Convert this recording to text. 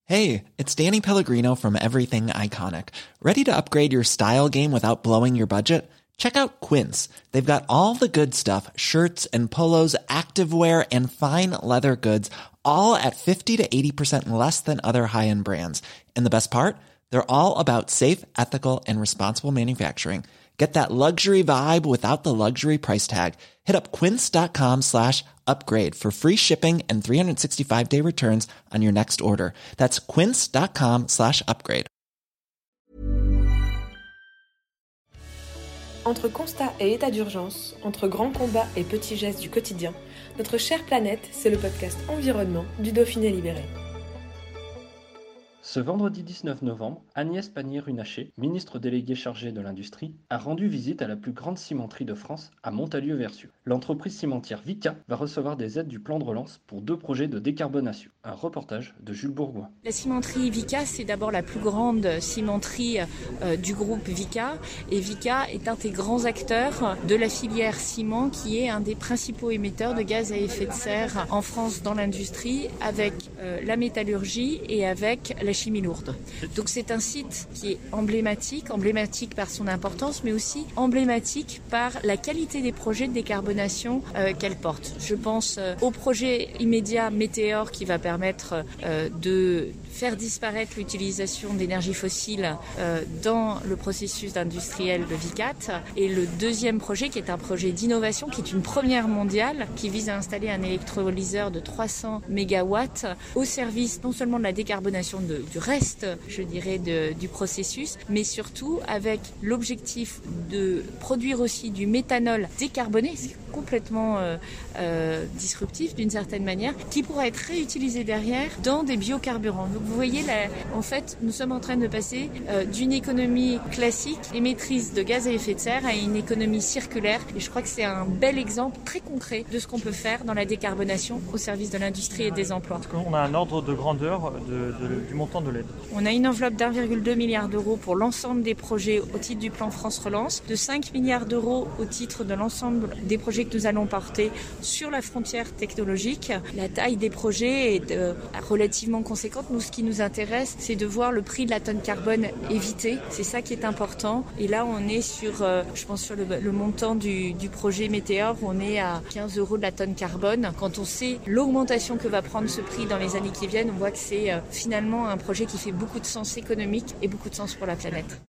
Hey, it's Danny Pellegrino from Everything Iconic. Ready to upgrade your style game without blowing your budget? Check out Quince. They've got all the good stuff, shirts and polos, activewear, and fine leather goods, all at 50 to 80% less than other high-end brands. And the best part? They're all about safe, ethical, and responsible manufacturing. Get that luxury vibe without the luxury price tag. Hit up quince.com/upgrade for free shipping and 365-day returns on your next order. That's quince.com/upgrade. Entre constat et état d'urgence, entre grands combats et petits gestes du quotidien, notre chère planète, c'est le podcast Environnement du Dauphiné Libéré. Ce vendredi 19 novembre, Agnès Pannier-Runacher, ministre déléguée chargée de l'industrie, a rendu visite à la plus grande cimenterie de France, à Montalieu-Vercieu. L'entreprise cimentière Vicat va recevoir des aides du plan de relance pour 2 projets de décarbonation. Un reportage de Jules Bourgoin. La cimenterie Vicat, c'est d'abord la plus grande cimenterie du groupe Vicat. Et Vicat est un des grands acteurs de la filière ciment, qui est un des principaux émetteurs de gaz à effet de serre en France dans l'industrie, avec la métallurgie et avec la chimie lourde. Donc c'est un site qui est emblématique par son importance, mais aussi emblématique par la qualité des projets de décarbonation qu'elle porte. Je pense au projet immédiat Météor qui va permettre de faire disparaître l'utilisation d'énergie fossile dans le processus industriel de Vicat. Et le deuxième projet qui est un projet d'innovation, qui est une première mondiale, qui vise à installer un électrolyseur de 300 MW au service non seulement de la décarbonation du reste, je dirais, du processus, mais surtout avec l'objectif de produire aussi du méthanol décarboné, c'est complètement disruptif d'une certaine manière, qui pourra être réutilisé derrière dans des biocarburants. Donc vous voyez, en fait, nous sommes en train de passer d'une économie classique émettrice de gaz à effet de serre à une économie circulaire. Et je crois que c'est un bel exemple très concret de ce qu'on peut faire dans la décarbonation au service de l'industrie et des emplois. Est-ce qu'on a un ordre de grandeur du montant de l'aide? On a une enveloppe d'1,2 milliard d'euros pour l'ensemble des projets au titre du plan France Relance, de 5 milliards d'euros au titre de l'ensemble des projets que nous allons porter sur la frontière technologique. La taille des projets est relativement conséquente. Nous, ce qui nous intéresse, c'est de voir le prix de la tonne carbone évité. C'est ça qui est important. Et là, on est sur, je pense, sur le montant du projet Météor, on est à 15 € de la tonne carbone. Quand on sait l'augmentation que va prendre ce prix dans les années qui viennent, on voit que c'est finalement un projet qui fait beaucoup de sens économique et beaucoup de sens pour la planète.